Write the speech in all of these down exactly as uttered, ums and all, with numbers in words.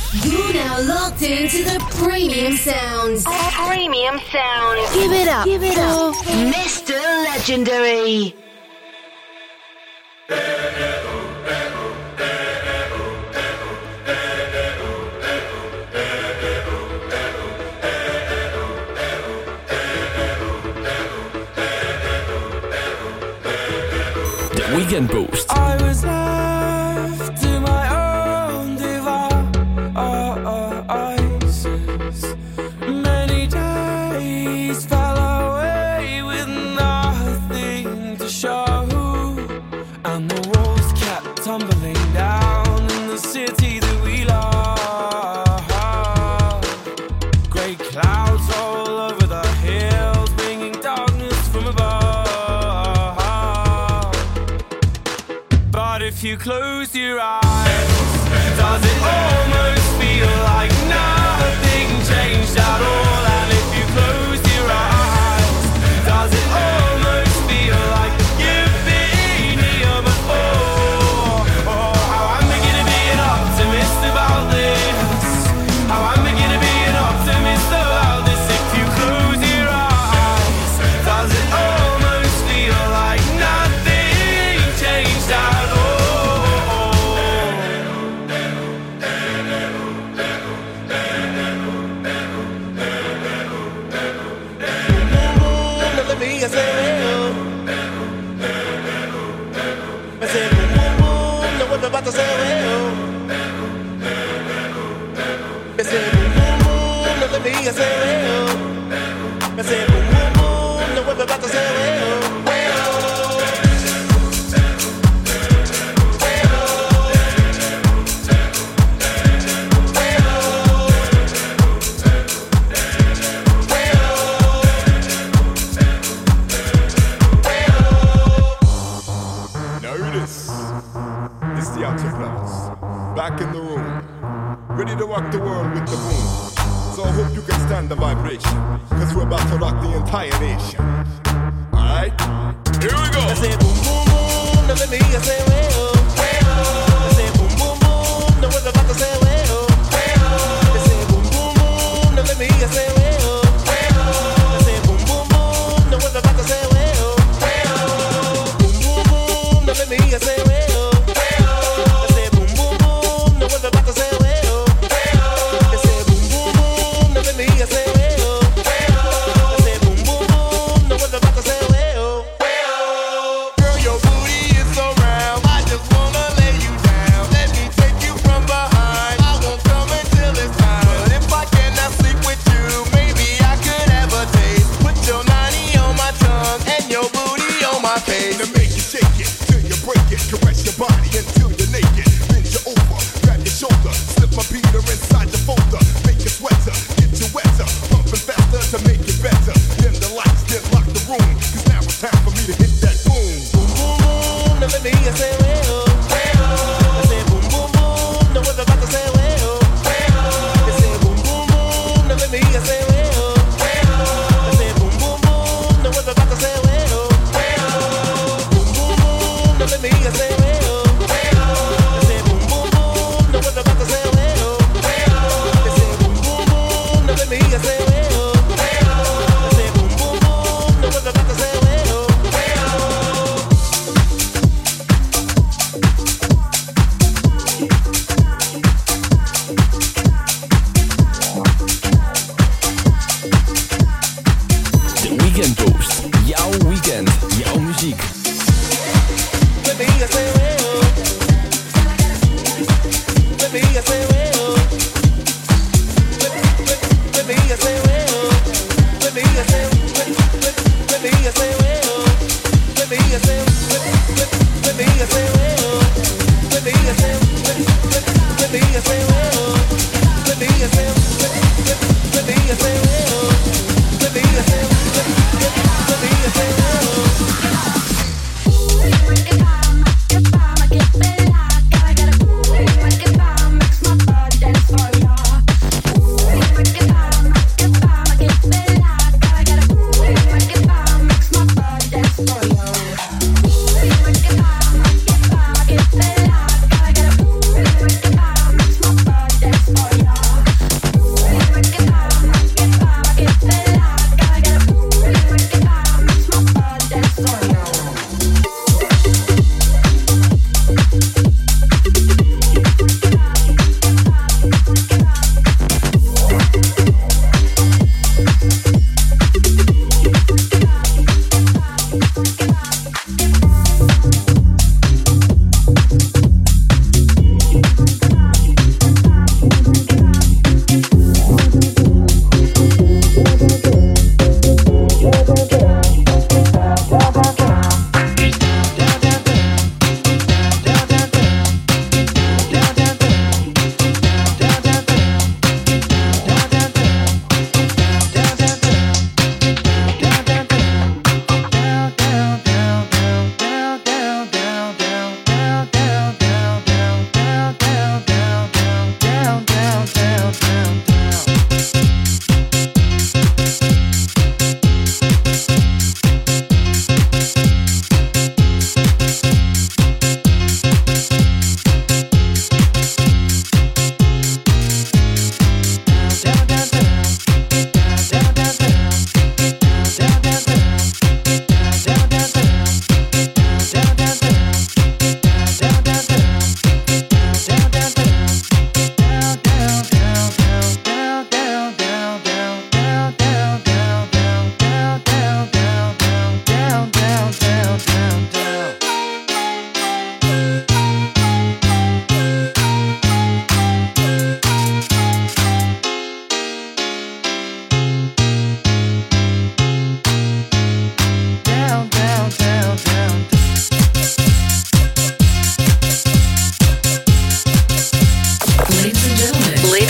You're now locked into the premium sounds. Premium sounds. Give it up. Give it up. Mister Legendary. The Weekend Boost. I was left to my own devices. Many days fell away with nothing to show, and the walls kept tumbling down in the city that we love. Grey clouds all over the hills, bringing darkness from above. But if you close your eyes, does it almost feel like nothing changed at all? And if you close your eyes, does it almost feel like you've been here before? Oh, how I'm beginning to be an optimist about this. How I'm beginning to be an optimist about this. If you close your eyes, does it almost feel like nothing changed at all? I say, well, I say, boom, boom, boom, now what about to say, well, I say, boom, boom, boom, now let me, I say, well, I say, boom, boom, boom, now what about to say, well, well. Back in the room, ready to rock the world with the boom. So I hope you can stand the vibration, cause we're about to rock the entire nation. Alright, here we go. I say boom boom boom, now let me I say well, well. I say boom boom boom, now we're about to say well, well. I say boom boom boom, now let me I say well, well. I say boom boom boom, now we're about to say well, well. Boom boom boom, now let me I say well. Girl, your booty is so round, I just want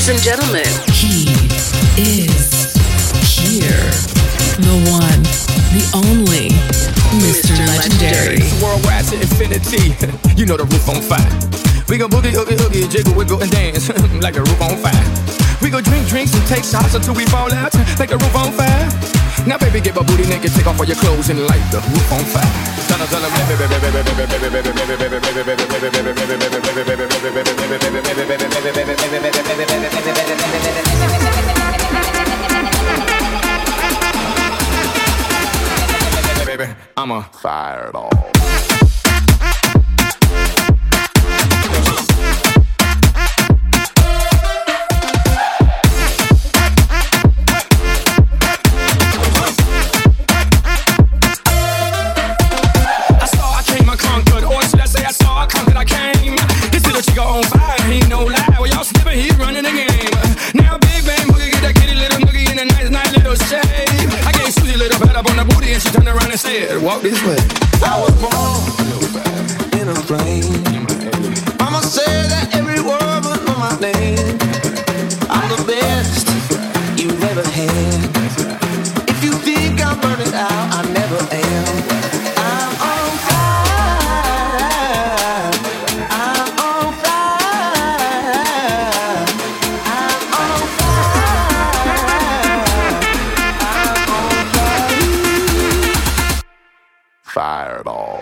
Ladies and gentlemen, he is here. The one, the only, Mister Legendary. It's worldwide to infinity. You know the roof on fire. We gon' boogie, oogie, oogie, jiggle, wiggle, and dance like the roof on fire. We gon' drink drinks and take shots until we fall out like the roof on fire. Now baby, get my booty naked, take off all your clothes and light the roof on fire. Tell them, tell them, baby, I'm a fire it all. Walk this way. I was born in a plane. Mama said that every word would know my name. I'm the best you've ever had. If you think I'm burning out, I never am. I'm on fire. I'm on fire. I'm on fire. I'm on fire. Fire it all.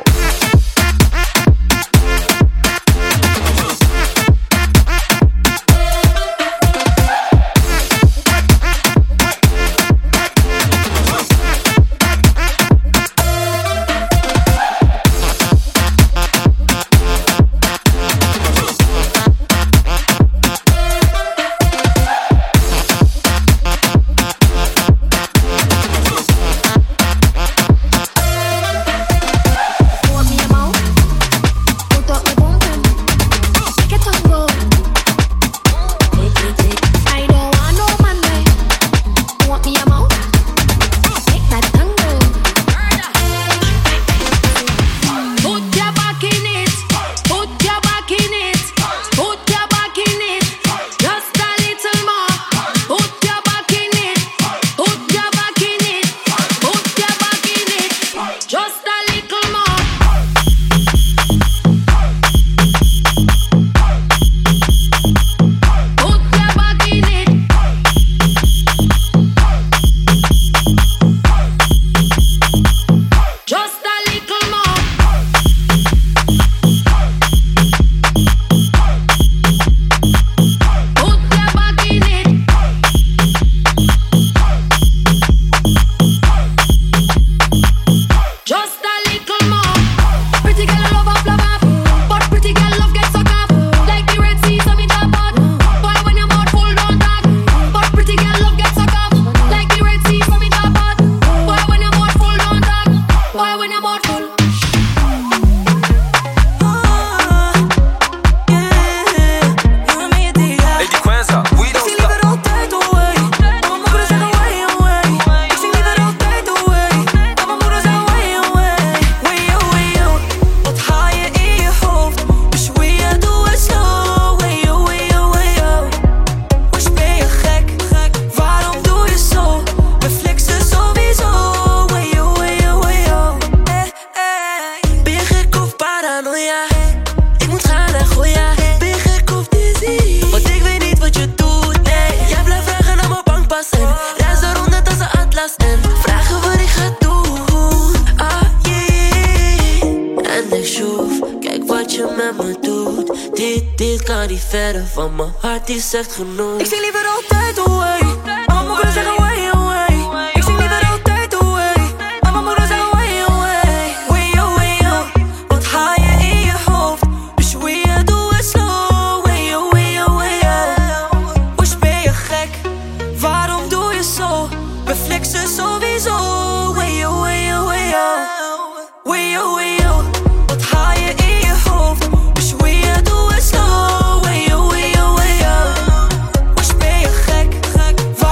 Van mijn hart die zegt genoeg. Ik zing liever altijd away. Maar mijn moeder zegt away, away. Ik zing liever altijd away. Maar mijn moeder zegt away, away. Way, oh, way, oh. Wat haal je in je hoofd? Dus hoe je doe het slow. Way, oh, way, oh, way, oh. Woes, ben je gek? Waarom doe je zo? We flexen sowieso. Way, oh, way, oh, way, oh. Way, oh, way, oh. Wat haal je in je hoofd? Dus hoe je doe het slow. Way, oh, way, oh, way, oh. Woes, ben je gek?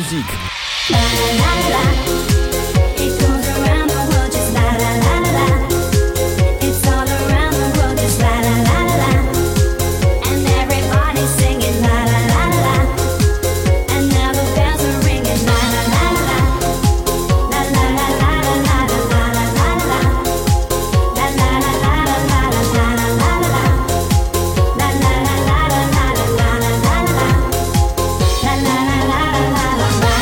muziek. La la la la. It goes around the world just la la la la la. It's all around the world just la la la la la. And everybody's singing la la la la la. And now the bells are ringing la la la la la. La la la la la la la la la la la. La la la la la la la la la la la. La la la la la la la la la la la. La la la la la la la la la.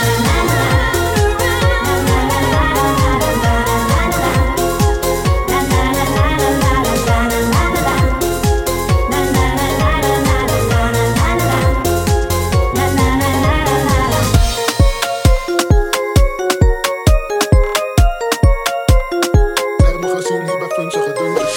Heb me gezien hier bij vunzige deuntjes.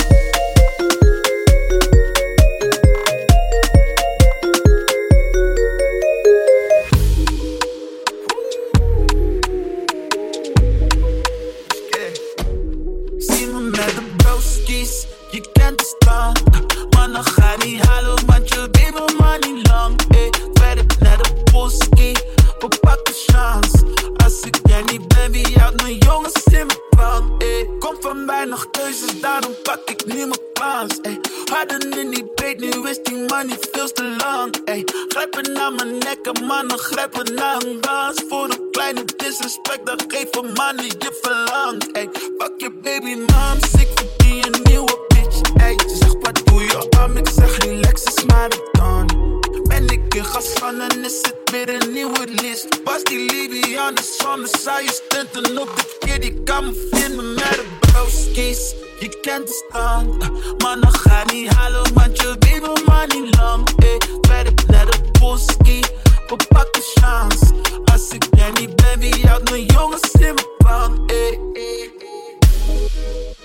Zie me met de broskies, je kent de stand. Mannen ga niet halen, want je weet me maar niet lang. Ey, werk naar de boski, we pakken chance. Als ik er niet ben, wie houdt mijn jongens in mijn brand? Ey, kom van mij nog keuzes, daarom pak ik nu mijn kans. Ey, hadden in die breed, nu is die money veel te lang. Ey, grijpen naar mijn nek en mannen grijpen naar een dans. Voor een kleine disrespect, dan geef een man die je verlangt. Ey, fuck je baby mom, ik verdien een nieuwe bitch. Ey, ze zegt wat doe je om, ik zeg relax is maar de dan. Ben ik in gas van en is het weer een nieuwe list. Was die Libyan de zon, zou je stunten op de keer. Die kan me vinden met de broskies. Je kent de stand, mannen ga niet halen, want je weet me maar niet lang. Ey, werk naar de boski, we pakken chance. Als ik er niet ben, wie houdt mijn jongens in mijn brand? Ey, ey, ey.